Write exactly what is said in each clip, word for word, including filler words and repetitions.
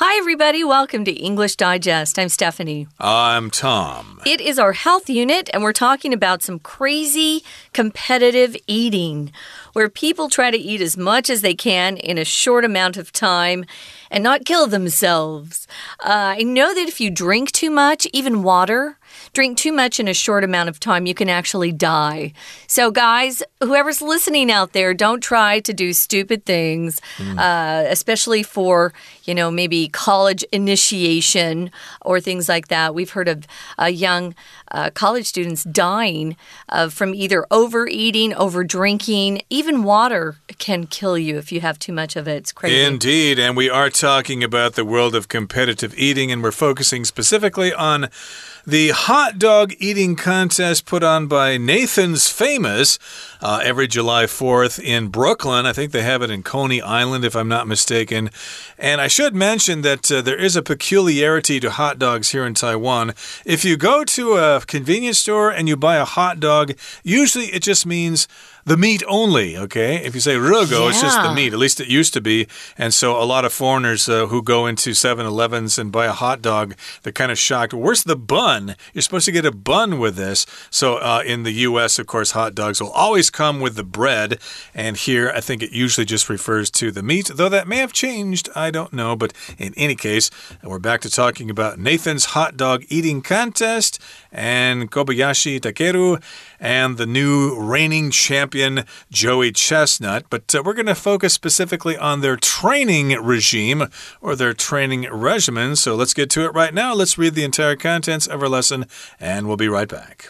Hi, everybody. Welcome to English Digest. I'm Stephanie. I'm Tom. It is our health unit, and we're talking about some crazy competitive eating, where people try to eat as much as they can in a short amount of time and not kill themselves. Uh, I know that if you drink too much, even water, drink too much in a short amount of time, you can actually die. So, guys, whoever's listening out there, don't try to do stupid things, mm. uh, especially for, you know, maybe college initiation or things like that. We've heard of uh, young uh, college students dying uh, from either overeating, over drinking. Even water can kill you if you have too much of it. It's crazy. Indeed, and we are talking about the world of competitive eating, and we're focusing specifically on the hot dog eating contest put on by Nathan's Famous uh, every July fourth in Brooklyn. I think they have it in Coney Island, if I'm not mistaken. And I should mention that uh, there is a peculiarity to hot dogs here in Taiwan. If you go to a convenience store and you buy a hot dog, usually it just means the meat only, okay? If you say rugo, yeah. It's just the meat. At least it used to be. And so a lot of foreigners uh, who go into seven elevens and buy a hot dog, they're kind of shocked. Where's the bun? You're supposed to get a bun with this. So uh, in the U S, of course, hot dogs will always come with the bread. And here, I think it usually just refers to the meat, though that may have changed. I don't know. But in any case, we're back to talking about Nathan's hot dog eating contest and Kobayashi Takeru and the new reigning champion, Joey Chestnut. But uh, we're going to focus specifically on their training regime or their training regimen. So let's get to it right now. Let's read the entire contents of our lesson, and we'll be right back.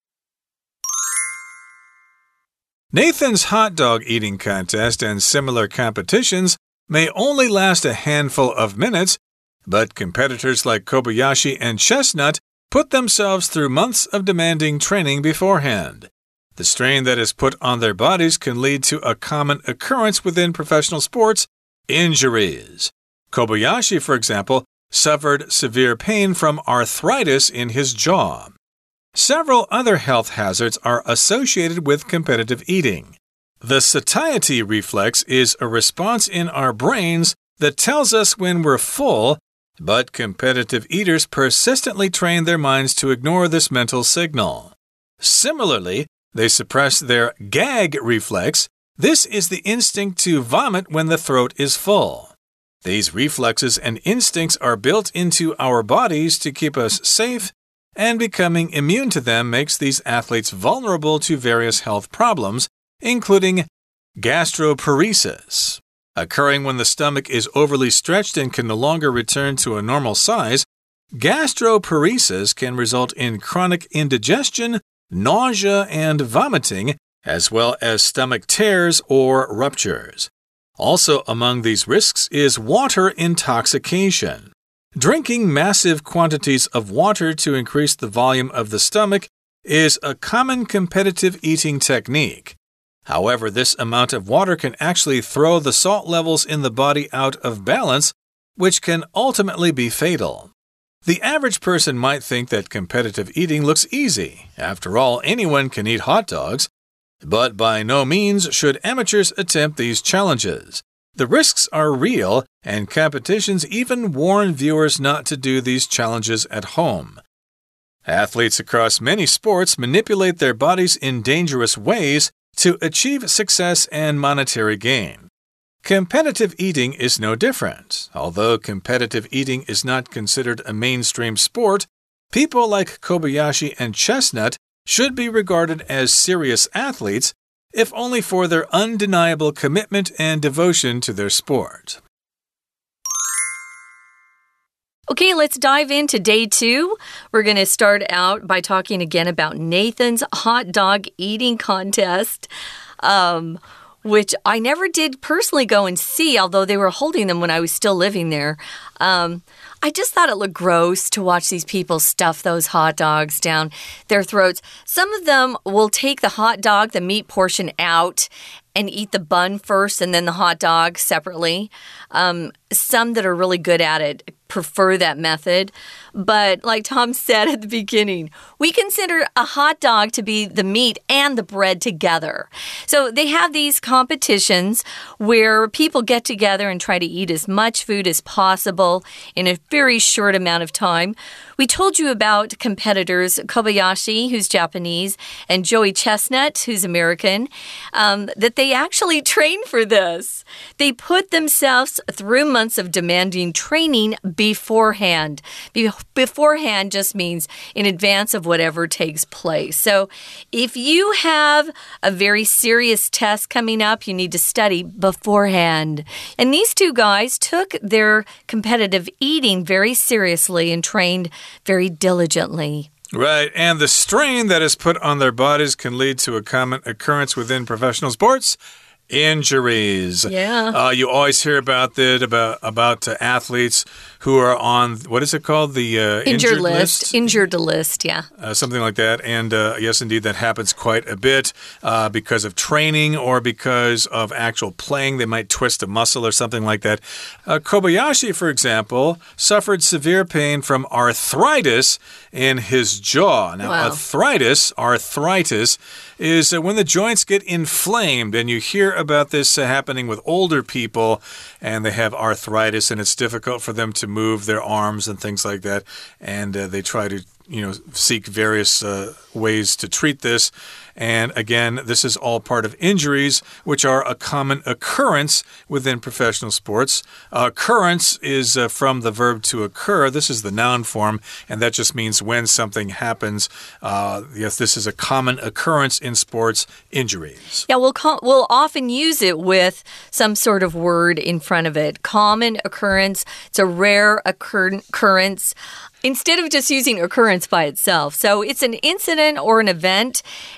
Nathan's hot dog eating contest and similar competitions may only last a handful of minutes, but competitors like Kobayashi and Chestnut put themselves through months of demanding training beforehand. The strain that is put on their bodies can lead to a common occurrence within professional sports: injuries. Kobayashi, for example, suffered severe pain from arthritis in his jaw. Several other health hazards are associated with competitive eating. The satiety reflex is a response in our brains that tells us when we're full, but competitive eaters persistently train their minds to ignore this mental signal. Similarly, they suppress their gag reflex. This is the instinct to vomit when the throat is full. These reflexes and instincts are built into our bodies to keep us safe, and becoming immune to them makes these athletes vulnerable to various health problems, including gastroparesis. Occurring when the stomach is overly stretched and can no longer return to a normal size, gastroparesis can result in chronic indigestion, nausea, and vomiting, as well as stomach tears or ruptures. Also among these risks is water intoxication. Drinking massive quantities of water to increase the volume of the stomach is a common competitive eating technique. However, this amount of water can actually throw the salt levels in the body out of balance, which can ultimately be fatal. The average person might think that competitive eating looks easy. After all, anyone can eat hot dogs. But by no means should amateurs attempt these challenges. The risks are real, and competitions even warn viewers not to do these challenges at home. Athletes across many sports manipulate their bodies in dangerous ways to achieve success and monetary gain. Competitive eating is no different. Although competitive eating is not considered a mainstream sport, people like Kobayashi and Chestnut should be regarded as serious athletes, if only for their undeniable commitment and devotion to their sport. Okay, let's dive into day two. We're going to start out by talking again about Nathan's hot dog eating contest, um, which I never did personally go and see, although they were holding them when I was still living there. Um, I just thought it looked gross to watch these people stuff those hot dogs down their throats. Some of them will take the hot dog, the meat portion out, and eat the bun first and then the hot dog separately. Um, some that are really good at it prefer that method. But like Tom said at the beginning, we consider a hot dog to be the meat and the bread together. So they have these competitions where people get together and try to eat as much food as possible in a very short amount of time. We told you about competitors Kobayashi, who's Japanese, and Joey Chestnut, who's American, um, that they actually train for this. They put themselves through months of demanding training beforehand. Be beforehand just means in advance of whatever takes place. So if you have a very serious test coming up, you need to study beforehand. And these two guys took their competitive eating very seriously and trained very diligently. Right, and the strain that is put on their bodies can lead to a common occurrence within professional sports. Injuries. Yeah. Uh, you always hear about that, about, about uh, athletes who are on, what is it called? The uh, injured, injured list. list? Injured list, yeah. Uh, something like that. And uh, yes, indeed, that happens quite a bit uh, because of training or because of actual playing. They might twist a muscle or something like that. Uh, Kobayashi, for example, suffered severe pain from arthritis in his jaw. Now, wow. arthritis, arthritis, is uh, when the joints get inflamed, and you hear about this uh, happening with older people, and they have arthritis, and it's difficult for them to move their arms and things like that, and uh, they try to, you know, seek various uh, ways to treat this. And again, this is all part of injuries, which are a common occurrence within professional sports. Uh, occurrence is uh, from the verb to occur. This is the noun form, and that just means when something happens. Uh, yes, this is a common occurrence in sports, injuries. Yeah, we'll, call, we'll often use it with some sort of word in front of it. Common occurrence. It's a rare occur occurrence. Instead of just using occurrence by itself. So it's an incident or an event,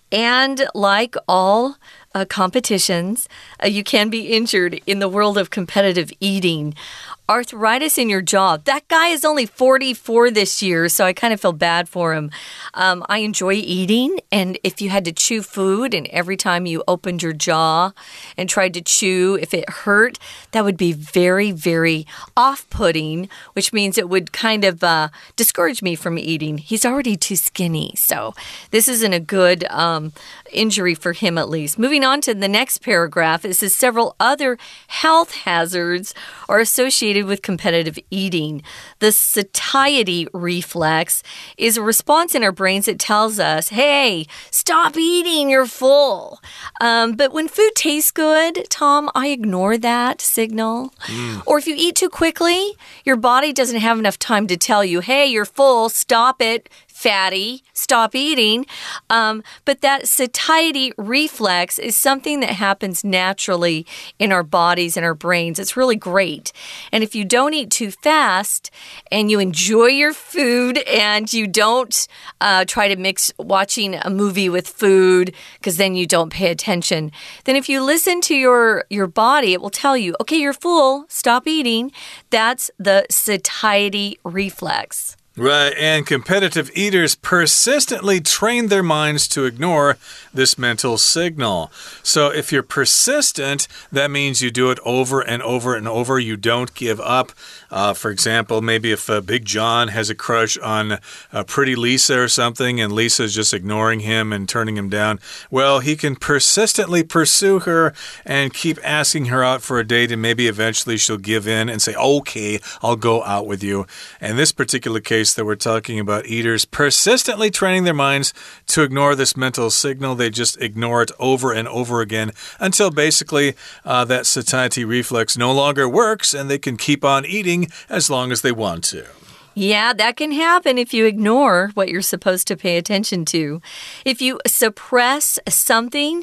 and like all uh, competitions, uh, you can be injured in the world of competitive eating. Arthritis in your jaw. That guy is only forty-four this year, so I kind of feel bad for him. Um, I enjoy eating, and if you had to chew food, and every time you opened your jaw and tried to chew, if it hurt, that would be very, very off-putting, which means it would kind of uh, discourage me from eating. He's already too skinny, so this isn't a good um, injury for him at least. Moving on to the next paragraph, it says several other health hazards are associated with competitive eating. The satiety reflex is a response in our brains that tells us, hey, stop eating, you're full. Um, but when food tastes good, Tom, I ignore that signal. Mm. Or if you eat too quickly, your body doesn't have enough time to tell you, hey, you're full, stop it. Fatty, stop eating. Um, but that satiety reflex is something that happens naturally in our bodies and our brains. It's really great. And if you don't eat too fast and you enjoy your food and you don't uh, try to mix watching a movie with food because then you don't pay attention, then if you listen to your, your body, it will tell you, okay, you're full, stop eating. That's the satiety reflex. Right, and competitive eaters persistently train their minds to ignore this mental signal. So if you're persistent, that means you do it over and over and over. You don't give up. Uh, for example, maybe if uh, Big John has a crush on uh, Pretty Lisa or something, and Lisa's just ignoring him and turning him down, well, he can persistently pursue her and keep asking her out for a date, and maybe eventually she'll give in and say, okay, I'll go out with you. In this particular case that we're talking about, eaters persistently training their minds to ignore this mental signal. They just ignore it over and over again until basically uh, that satiety reflex no longer works and they can keep on eating as long as they want to. Yeah, that can happen if you ignore what you're supposed to pay attention to. If you suppress something,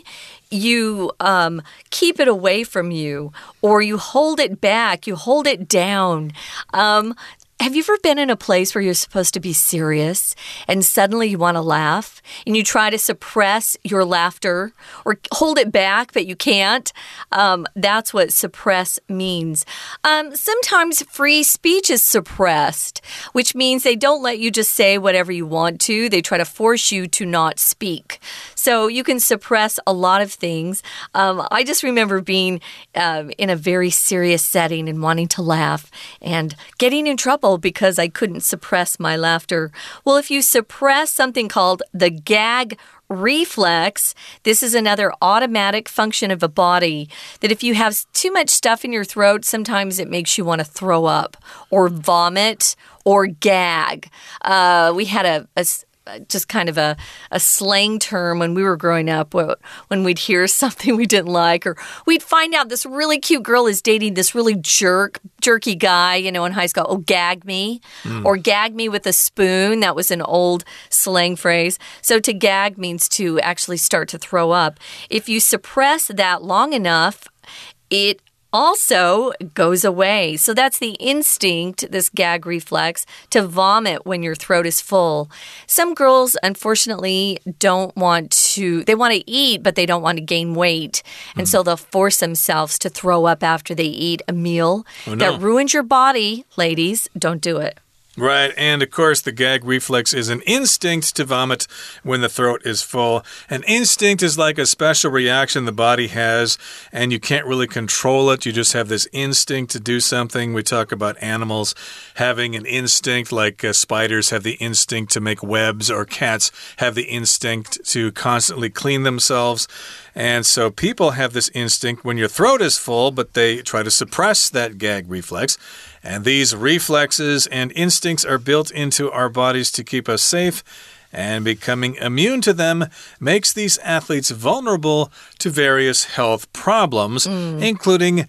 you um, keep it away from you, or you hold it back, you hold it down. Um, Have you ever been in a place where you're supposed to be serious and suddenly you want to laugh and you try to suppress your laughter or hold it back, but you can't? Um, that's what suppress means. Um, sometimes free speech is suppressed, which means they don't let you just say whatever you want to. They try to force you to not speak. So you can suppress a lot of things. Um, I just remember being um, in a very serious setting and wanting to laugh and getting in trouble oh, because I couldn't suppress my laughter. Well, if you suppress something called the gag reflex, this is another automatic function of a body that if you have too much stuff in your throat, sometimes it makes you want to throw up or vomit or gag. Uh, we had a, a just kind of a, a slang term when we were growing up, when we'd hear something we didn't like, or we'd find out this really cute girl is dating this really jerk, jerky guy, you know, in high school. Oh, gag me, mm. or gag me with a spoon. That was an old slang phrase. So to gag means to actually start to throw up. If you suppress that long enough, it also goes away. So that's the instinct, this gag reflex, to vomit when your throat is full. Some girls, unfortunately, don't want to, they want to eat, but they don't want to gain weight. And mm. so they'll force themselves to throw up after they eat a meal. Oh, no. That ruins your body, ladies. Don't do it. Right, and of course the gag reflex is an instinct to vomit when the throat is full. An instinct is like a special reaction the body has, and you can't really control it. You just have this instinct to do something. We talk about animals having an instinct, like uh, spiders have the instinct to make webs, or cats have the instinct to constantly clean themselves. And so people have this instinct when your throat is full, but they try to suppress that gag reflex. And these reflexes and instincts are built into our bodies to keep us safe, and becoming immune to them makes these athletes vulnerable to various health problems, mm. including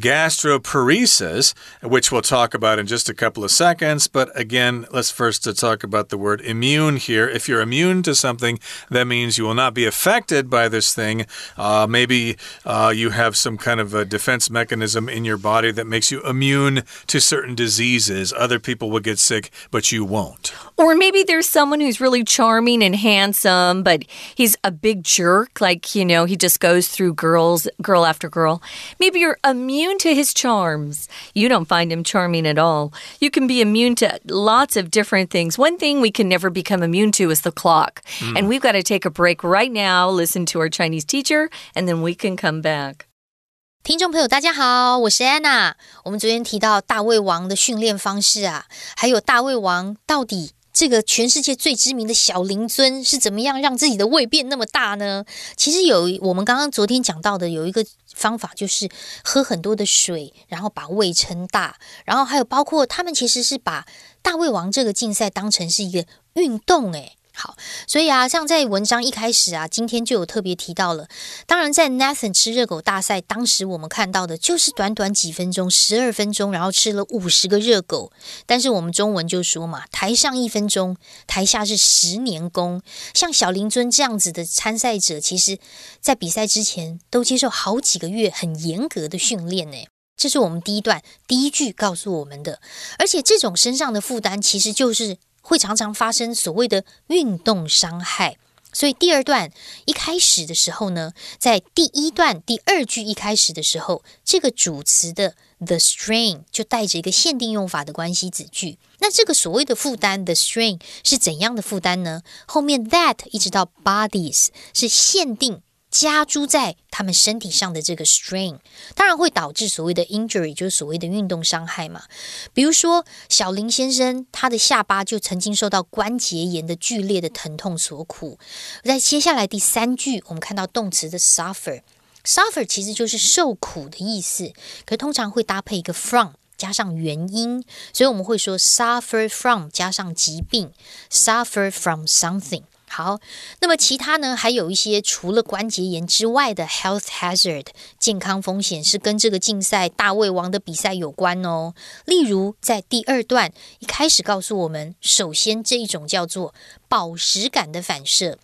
gastroparesis, which we'll talk about in just a couple of seconds. But again, let's first to talk about the word immune here. If you're immune to something, that means you will not be affected by this thing. Uh, maybe uh, you have some kind of a defense mechanism in your body that makes you immune to certain diseases. Other people will get sick, but you won't. Or maybe there's someone who's really charming and handsome, but he's a big jerk. Like, you know, he just goes through girls, girl after girl. Maybe you're immune to his charms. You don't find him charming at all. You can be immune to lots of different things. One thing we can never become immune to is the clock. Mm. And we've got to take a break right now, listen to our Chinese teacher, and then we can come back. 听众朋友大家好，我是 Anna。 我们昨天提到大胃王的训練方式啊，還有大胃王到底這個全世界最知名的小林尊是怎麼樣讓自己的胃變那麼大呢？其實有我們剛剛昨天講到的有一個方法，就是喝很多的水，然後把胃撐大，然後還有包括他們其實是把大胃王這個競賽當成是一個運動誒。好，所以啊，像在文章一開始啊，今天就有特別提到了。當然，在 Nathan 吃熱狗大賽，當時我們看到的就是短短幾分鐘，十二分鐘，然後吃了五十個熱狗。但是我們中文就說嘛，台上一分鐘，台下是十年功。像小林尊這樣子的參賽者，其實在比賽之前都接受好幾個月很嚴格的訓練呢。這是我們第一段第一句告訴我們的。而且這種身上的負擔，其實就是會常常發生所謂的運動傷害。所以第二段一開始的時候呢，在第一段第二句一開始的時候，這個主詞的 the strain 就帶着一個限定用法的關係子句。那這個所謂的負擔 the strain 是怎樣的負擔呢？後面 that 一直到 bodies 是限定加諸在他們身體上的這個 strain， 當然會導致所謂的 injury， 就是所謂的運動傷害嘛。比如說小林先生，他的下巴就曾經受到關節炎的劇烈的疼痛所苦。在接下來第三句，我們看到動詞的 suffer， suffer 其實就是受苦的意思，可是通常會搭配一個 from 加上原因，所以我們會說 suffer from 加上疾病 suffer from something。好，那麼其他呢，還有一些除了關節炎之外的 health hazard 健康風險是跟這個競賽大胃王的比賽有關哦。例如在第二段一開始告訴我們，首先這一種叫做飽食感的反射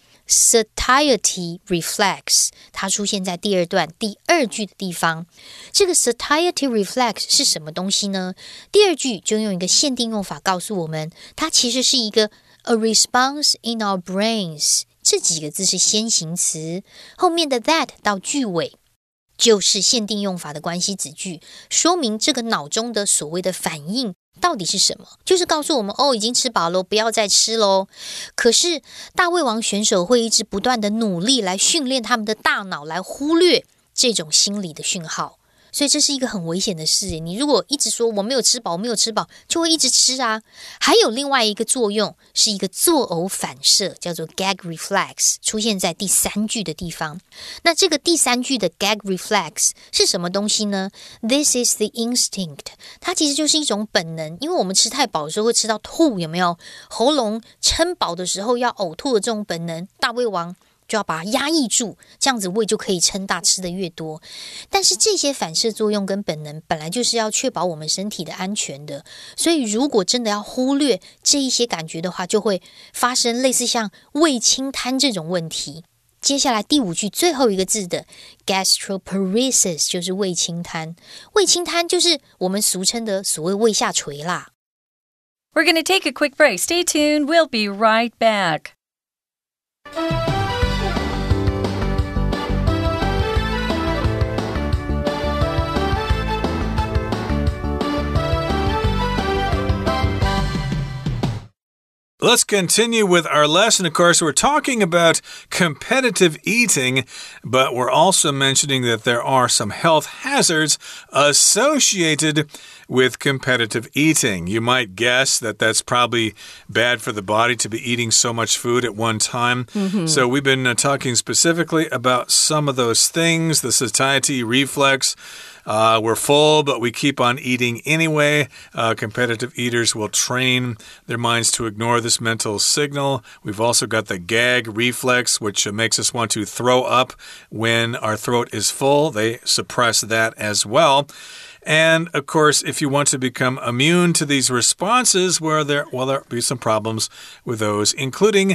satiety reflex， 它出現在第二段第二句的地方。這個 satiety reflex 是什麼東西呢？第二句就用一個限定用法告訴我們，它其實是一個A response in our brains， 這幾個字是先行詞，後面的 that 到句尾就是限定用法的關係子句，說明這個腦中的所謂的反應到底是什麼，就是告訴我們哦，已經吃飽了，不要再吃咯。可是大胃王選手會一直不斷的努力來訓練他們的大腦來忽略這種心理的訊號。 所以這是一個很危險的事。你如果一直說我沒有吃飽，我沒有吃飽，就會一直吃啊。還有另外一個作用，是一個作嘔反射，叫做 gag reflex， 出現在第三句的地方。那這個第三句的 gag reflex 是什麼東西呢？ This is the instinct， 它其實就是一種本能，因為我們吃太飽的時候會吃到吐，有沒有？喉嚨撐飽的時候要嘔吐的這種本能，大胃王就要把它壓抑住，這樣子胃就可以撐大，吃得越多。但是這些反射作用跟本能本來就是要確保我们身體的安全的，所以如果真的要忽略這一些感覺的話，就會發生類似像胃清癱這種問題。接下來第五句最後一個字的 gastroparesis 就是胃清癱，胃清癱就是我們俗稱的所謂胃下垂啦。 We're going to take a quick break. Stay tuned. We'll be right back. Let's continue with our lesson. Of course, we're talking about competitive eating, but we're also mentioning that there are some health hazards associated with competitive eating. You might guess that that's probably bad for the body to be eating so much food at one time. Mm-hmm. So we've been uh, talking specifically about some of those things, the satiety reflex. Uh, we're full, but we keep on eating anyway. Uh, competitive eaters will train their minds to ignore this mental signal. We've also got the gag reflex, which uh, makes us want to throw up when our throat is full. They suppress that as well. And, of course, if you want to become immune to these responses, well, there will there be some problems with those, including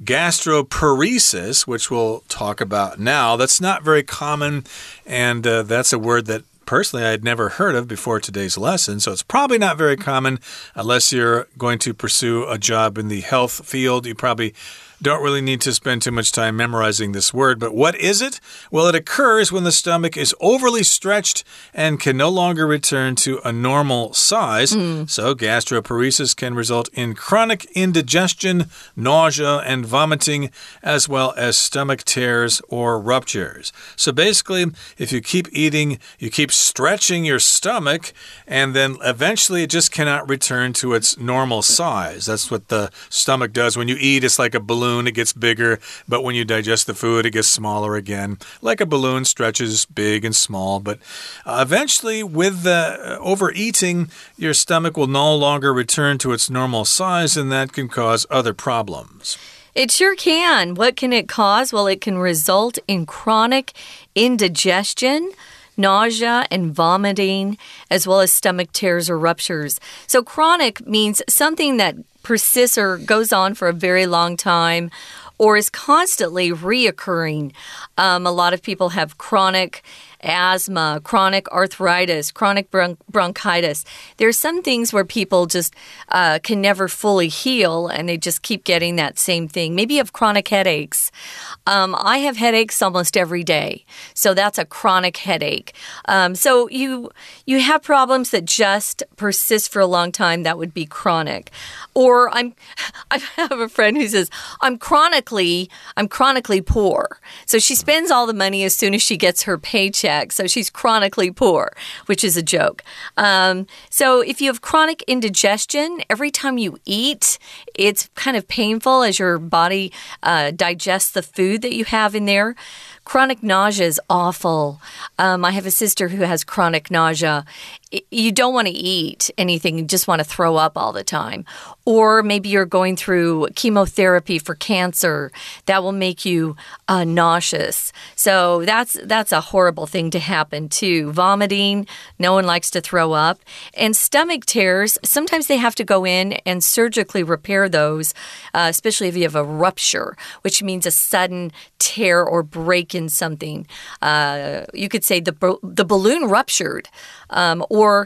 gastroparesis, which we'll talk about now. That's not very common, and uh, that's a word that personally I had never heard of before today's lesson, so it's probably not very common unless you're going to pursue a job in the health field. You probably don't really need to spend too much time memorizing this word, but what is it? Well, it occurs when the stomach is overly stretched and can no longer return to a normal size. Mm. So gastroparesis can result in chronic indigestion, nausea, and vomiting, as well as stomach tears or ruptures. So basically, if you keep eating, you keep stretching your stomach, and then eventually it just cannot return to its normal size. That's what the stomach does. When you eat, it's like a balloon. It gets bigger, but when you digest the food, it gets smaller again. Like a balloon stretches big and small, but uh, eventually with the overeating, your stomach will no longer return to its normal size, and that can cause other problems. It sure can. What can it cause? Well, it can result in chronic indigestion, nausea and vomiting, as well as stomach tears or ruptures. So chronic means something that persists or goes on for a very long time or is constantly reoccurring. Um, a lot of people have chronic asthma, chronic arthritis, chronic bron bronchitis. There are some things where people just uh, can never fully heal and they just keep getting that same thing. Maybe you have chronic headaches. Um, I have headaches almost every day. So that's a chronic headache. Um, so you, you have problems that just persist for a long time. That would be chronic. Or I'm, I have a friend who says, I'm chronically, I'm chronically poor. So she spends all the money as soon as she gets her paycheck. So she's chronically poor, which is a joke. Um, so if you have chronic indigestion, every time you eat, it's kind of painful as your body uh, digests the food that you have in there. Chronic nausea is awful. Um, I have a sister who has chronic nausea. You don't want to eat anything, you just want to throw up all the time. Or maybe you're going through chemotherapy for cancer. That will make you uh, nauseous. So that's that's a horrible thing to happen too. Vomiting, no one likes to throw up. And stomach tears, sometimes they have to go in and surgically repair those, uh, especially if you have a rupture, which means a sudden tear or break in something. Uh, you could say the, the balloon ruptured. Um, or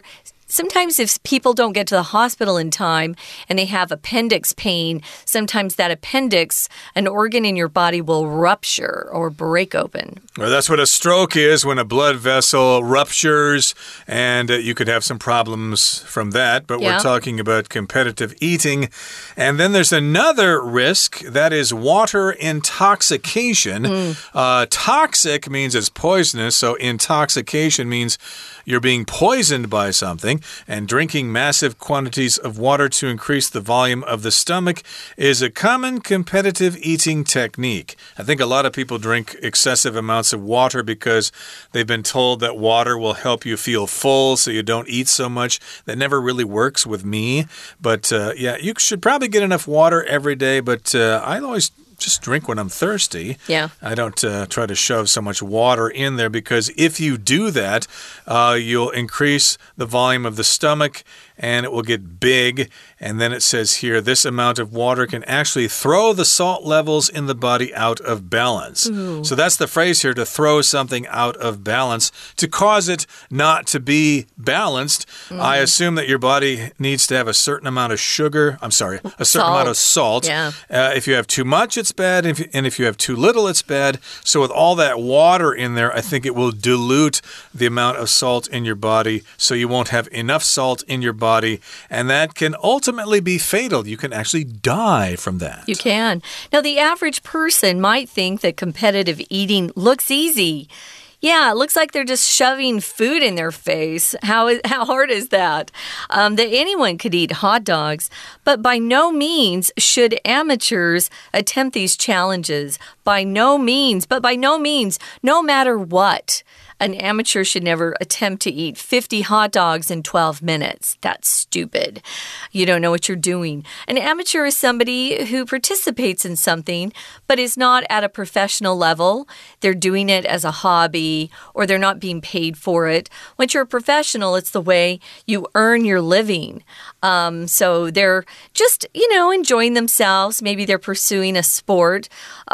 sometimes if people don't get to the hospital in time and they have appendix pain, sometimes that appendix, an organ in your body, will rupture or break open. Well, that's what a stroke is, when a blood vessel ruptures, and uh, you could have some problems from that. But yeah. we're talking about competitive eating. And then there's another risk, that is water intoxication. Mm. Uh, toxic means it's poisonous, so intoxication means you're being poisoned by something, and drinking massive quantities of water to increase the volume of the stomach is a common competitive eating technique. I think a lot of people drink excessive amounts of water because they've been told that water will help you feel full so you don't eat so much. That never really works with me. But uh, yeah, you should probably get enough water every day, but uh, I always just drink when I'm thirsty. Yeah. I don't uh, try to shove so much water in there, because if you do that, uh, you'll increase the volume of the stomach and it will get big. And then it says here, this amount of water can actually throw the salt levels in the body out of balance. Ooh. So that's the phrase here, to throw something out of balance, to cause it not to be balanced. Mm. I assume that your body needs to have a certain amount of sugar. I'm sorry, a certain salt. amount of salt. Yeah. Uh, if you have too much, it's bad. And if, and if you have too little, it's bad. So with all that water in there, I think it will dilute the amount of salt in your body, so you won't have enough salt in your body. And that can ultimately be fatal. You can actually die from that. You can. Now, the average person might think that competitive eating looks easy. Yeah, it looks like they're just shoving food in their face. How is, how hard is that? Um, that anyone could eat hot dogs. But by no means should amateurs attempt these challenges. By no means. But by no means, no matter what. An amateur should never attempt to eat fifty hot dogs in twelve minutes. That's stupid. You don't know what you're doing. An amateur is somebody who participates in something, but is not at a professional level. They're doing it as a hobby, or they're not being paid for it. Once you're a professional, it's the way you earn your living. Um, so they're just, you know, enjoying themselves. Maybe they're pursuing a sport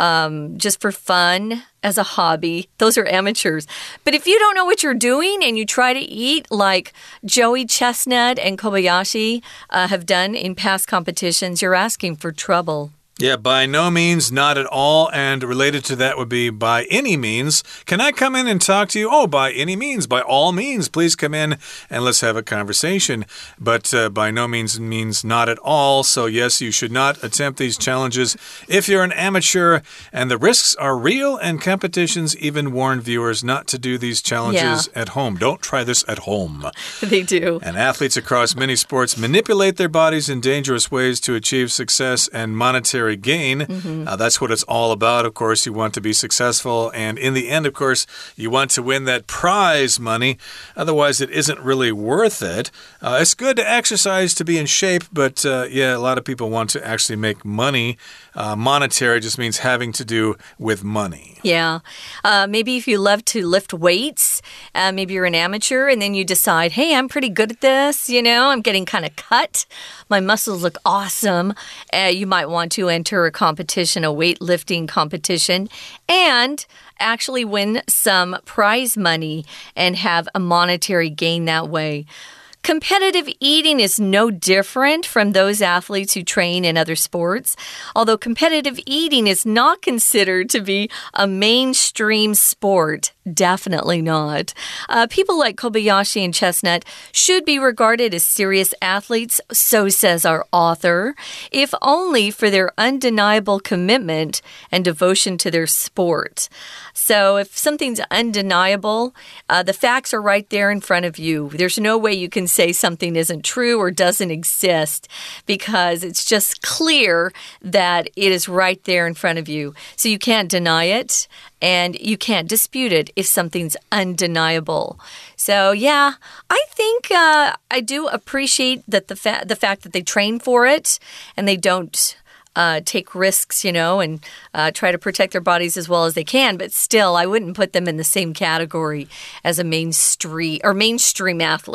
um, just for fun. As a hobby. Those are amateurs. But if you don't know what you're doing and you try to eat like Joey Chestnut and Kobayashi uh, have done in past competitions, you're asking for trouble. Yeah, by no means, not at all. And related to that would be by any means. Can I come in and talk to you? Oh, by any means, by all means, please come in and let's have a conversation. But uh, by no means means not at all. So yes, you should not attempt these challenges if you're an amateur. And the risks are real, and competitions even warn viewers not to do these challenges yeah. at home. Don't try this at home. They do. And athletes across many sports manipulate their bodies in dangerous ways to achieve success and monetary gain. Mm-hmm. Uh, that's what it's all about. Of course, you want to be successful, and in the end, of course, you want to win that prize money. Otherwise, it isn't really worth it. Uh, it's good to exercise to be in shape, but uh, yeah, a lot of people want to actually make money. Uh, monetary just means having to do with money. Yeah. Uh, maybe if you love to lift weights, uh, maybe you're an amateur, and then you decide, hey, I'm pretty good at this. You know, I'm getting kind of cut. My muscles look awesome. Uh, you might want to enter a competition, a weightlifting competition, and actually win some prize money and have a monetary gain that way. Competitive eating is no different from those athletes who train in other sports, although competitive eating is not considered to be a mainstream sport. Definitely not. Uh, people like Kobayashi and Chestnut should be regarded as serious athletes, so says our author, if only for their undeniable commitment and devotion to their sport. So if something's undeniable, uh, the facts are right there in front of you. There's no way you can say something isn't true or doesn't exist, because it's just clear that it is right there in front of you. So you can't deny it, and you can't dispute it if something's undeniable. So, yeah, I think uh, I do appreciate that the, fa the fact that they train for it and they don't uh, take risks, you know, and uh, try to protect their bodies as well as they can. But still, I wouldn't put them in the same category as a mainstream or mainstream athlete.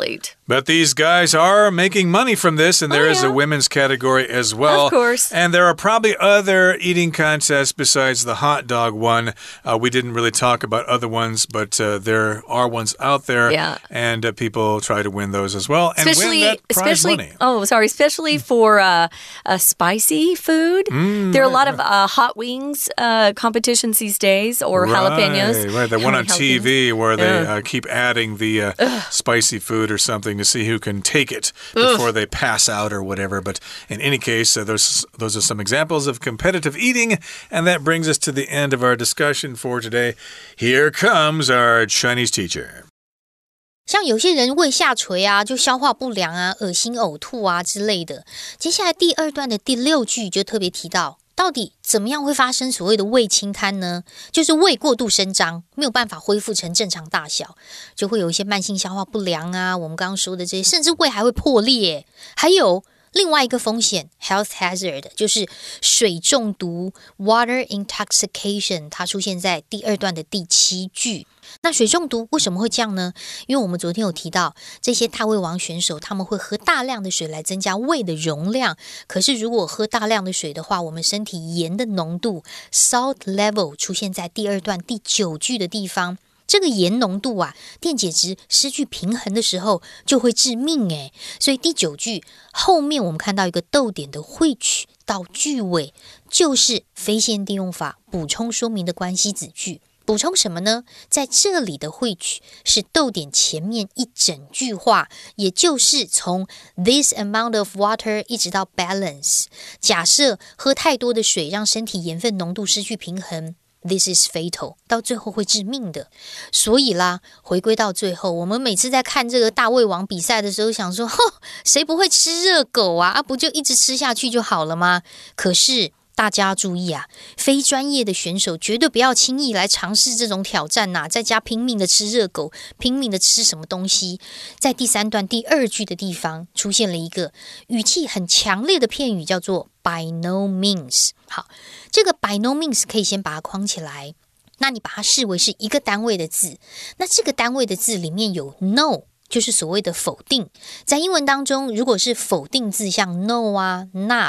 But these guys are making money from this, and there oh, is yeah. a women's category as well. Of course. And there are probably other eating contests besides the hot dog one. Uh, we didn't really talk about other ones, but uh, there are ones out there. Yeah. And uh, people try to win those as well. And especially, win that prize especially, money. Oh, sorry. Especially for uh, uh, spicy food. Mm, there are right, a lot right. of uh, hot wings uh, competitions these days, or right, jalapenos. Right, that one on T V where they yeah. uh, keep adding the uh, spicy food or something to see who can take it before Ugh. they pass out or whatever. But in any case, uh, those, those are some examples of competitive eating. And that brings us to the end of our discussion for today. Here comes our Chinese teacher. 像有些人胃下垂啊，就消化不良啊，惡心嘔吐啊之類的。接下來第二段的第六句就特別提到，到底怎麼樣會發生所謂的胃清癱呢？就是胃過度伸張，沒有辦法恢復成正常大小，就會有一些慢性消化不良啊，我們剛剛說的這些，甚至胃還會破裂。還有另外一個風險 health hazard 就是水中毒 water intoxication， 它出現在第二段的第七句。那水中毒為什麼會這樣呢？因為我們昨天有提到，這些大胃王選手他們會喝大量的水來增加胃的容量，可是如果喝大量的水的話，我們身體鹽的濃度 salt level 出現在第二段第九句的地方，這個鹽濃度啊，電解質失去平衡的時候就會致命誒。所以第九句後面我們看到一個逗點的 which 到句尾，就是非限定用法補充說明的關係子句。補充什麼呢？在這裡的 which 是逗點前面一整句話，也就是從 this amount of water 一直到 balance。假設喝太多的水讓身體鹽分濃度失去平衡， this is fatal， 到最後會致命的。所以啦，回歸到最後，我們每次在看這個大胃王比賽的時候，想說，吼，誰不會吃熱狗啊？啊，不就一直吃下去就好了嗎？可是大家注意啊，非專業的選手絕對不要輕易來嘗試這種挑戰吶，在家拼命的吃熱狗，拼命的吃什麼東西。在第三段第二句的地方出現了一個語氣很強烈的片語，叫做 by no means。好，這個 by no means 可以先把它框起來，那你把它視為是一個單位的字，那這個單位的字裡面有 no，就是所謂的否定。在英文當中，如果是否定字，像 no 啊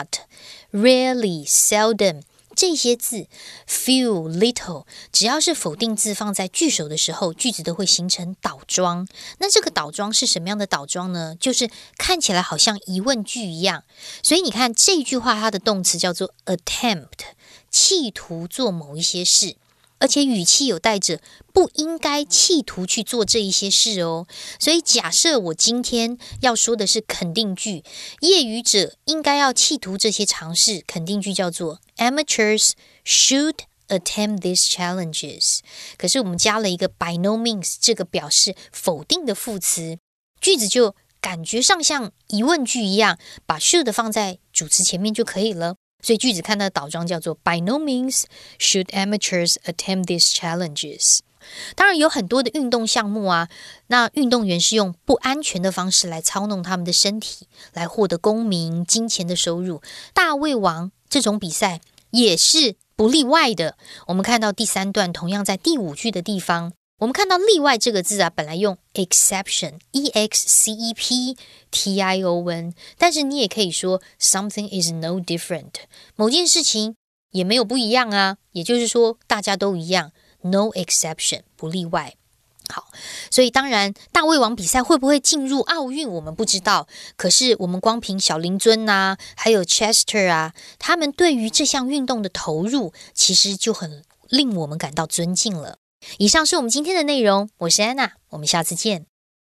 not、rarely、seldom 這些字 few、little， 只要是否定字放在句首的時候，句子都會形成倒裝。那這個倒裝是什麼樣的倒裝呢？就是看起來好像疑問句一樣。所以你看這句話，它的動詞叫做 attempt， 企圖做某一些事。而且語氣有帶着不應該企圖去做這一些事哦，所以假設我今天要說的是肯定句，業餘者應該要企圖這些嘗試，肯定句叫做 Amateurs should attempt these challenges。可是我們加了一個 by no means 這個表示否定的副詞，句子就感覺上像疑問句一樣，把 should 放在主詞前面就可以了。所以句子看到的倒裝叫做 By no means should amateurs attempt these challenges。 當然有很多的運動項目啊，那運動員是用不安全的方式來操弄他們的身體，來獲得功名、金錢的收入。大胃王這種比賽也是不例外的。我們看到第三段同樣在第五句的地方，我們看到例外這個字啊，本來用 exception E X C E P T I O N， 但是你也可以說 something is no different， 某件事情也沒有不一樣啊，也就是說大家都一樣 no exception 不例外。好，所以當然大胃王比賽會不會進入奧運我們不知道，可是我們光憑小林尊啊還有 Chester 啊，他們對於這項運動的投入其實就很令我們感到尊敬了。以上是我們今天的內容，我是安娜，我們下次見。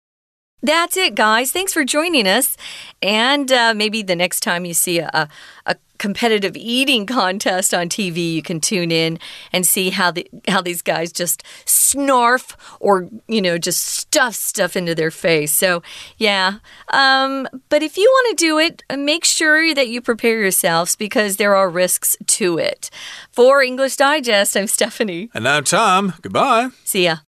That's it, guys. Thanks for joining us. And uh, maybe the next time you see a, a competitive eating contest on T V, you can tune in and see how the how these guys just snarf or, you know, just stuff stuff into their face. So, yeah. Um, but if you want to do it, make sure that you prepare yourselves because there are risks to it. For English Digest, I'm Stephanie. And I'm Tom. Goodbye. See ya.